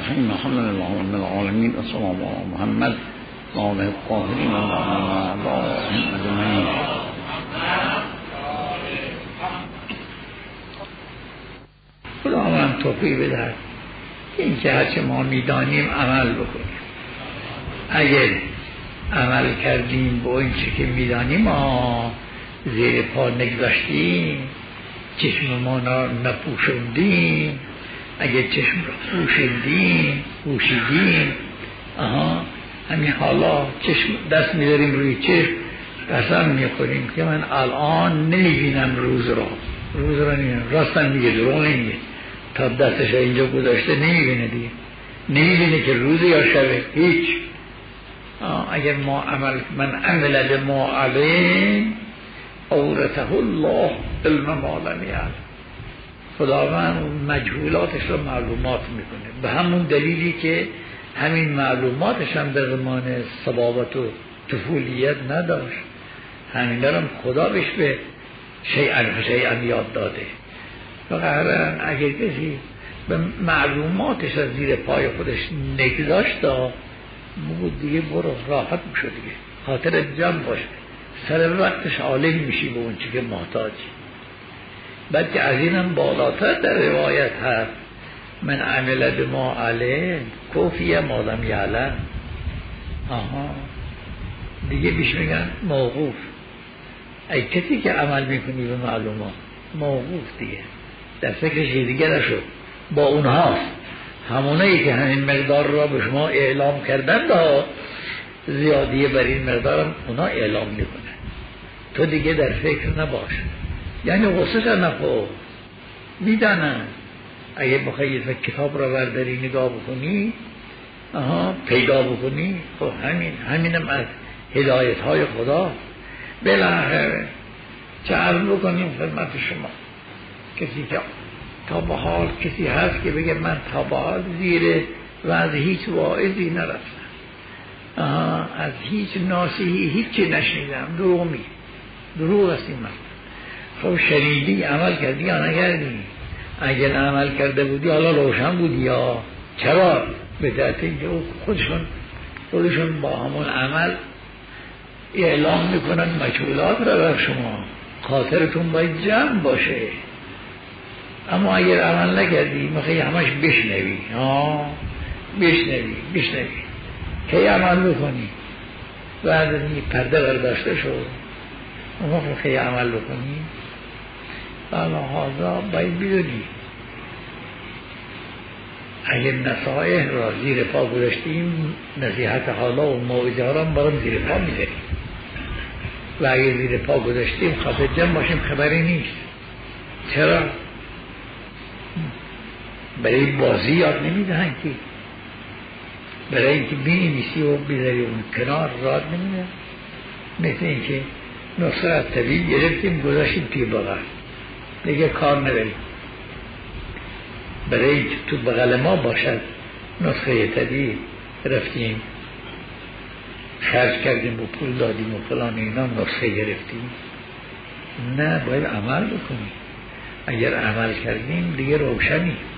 الرحیم الحمد لله رب العالمین و صلی الله علی محمد و آله الطاهرین و اعدائهم اجمعین. خداوند توفیق بدهد این که هرچه ما میدانیم عمل بکنیم. اگر عمل کردیم با این چی که میدانیم ما زیر پا نگذاشتیم، چشم ما نپوشوندیم، اگر چشم را پوشیدیم همین حالا چشم دست میداریم روی چشم، قسم میخوریم که من الان نمیبینم روز را نمیبینم. راستن میگه، دروغ نمیگه. تا دستش اینجا گذاشته نمیبینه دیگه، نمیبینه که روز یا شبه، هیچ. اگر ما من عمل بما علم اورثه الله علم ما لم یعلم. خداوند مجهولاتش رو معلومات میکنه، به همون دلیلی که همین معلوماتش هم در زمان صبابت و طفولیت نداشت، همین درم خدا بهش به شیئا یاد داده. فقط اگر کسی به معلوماتش از زیر پای خودش نگذاشت بود دیگه، برو راحت میشه دیگه، خاطر جمع باشه، سر وقتش عالم میشی به اون چی که محتاجی. بلکه از اینم بالاتر در روایت هست من عمل بما علم کفی ما لم یعلم. دیگه بیش میگن موقوف. ای کسی که عمل میکنی به معلومات موقوف دیگه، در فکرش دیگه نشد. با اونهاست، همونایی که همین مقدار را به شما اعلام کردن زیادیه بر این مقدارم اونا اعلام میکنه، تو دیگه در فکر نباش. یعنی غصه نخور، میدانن. اگه بخوایی کتاب را برداری نگاه بکنی پیدا بکنی، خب همینم از هدایت های خدا. بالاخره چه عرض بکنیم خدمت شما، کسی که تا به حال کسی هست که بگه من تا به حال زیر وضع هیچ واعظی نرفتم، از هیچ ناصحی هیچی نشنیدم، دروغ است این مثلا. خب شنیدی عمل کردی یا نکردی؟ اگر عمل کرده بودی حالا روشن بودی یا چرا؟ به دلیل اینکه خودشون با همون عمل اعلام میکنن مجهولات را بر شما، خاطرتون باید جمع باشه. اما اگر عمل نکردی میخوایی همش بشنوی که عمل بکنی، بعد این پرده برداشته شد اما میخوایی عمل بکنی. حالا حاضر باید بدونی اگر نصائح را زیر پا گذاشتیم، نصیحت حالا و موعظه ها را برام زیر پا میذاریم، و اگر زیر پا گذاشتیم خاطر جمع باشیم خبری نیست. چرا؟ برای بازی یاد نمیدهن که، برای اینکه بینویسی و بذاری اون کنار راد نمیدهن. مثل اینکه نسخه طبیعی گرفتیم گذاشتیم توی بغل، دیگه کار نداریم. برای اینکه تو بغل ما باشد نسخه طبیعی رفتیم خرج کردیم و پول دادیم و فلان اینا نسخه گرفتیم. نه، باید عمل بکنیم. اگر عمل کردیم دیگه روشنی.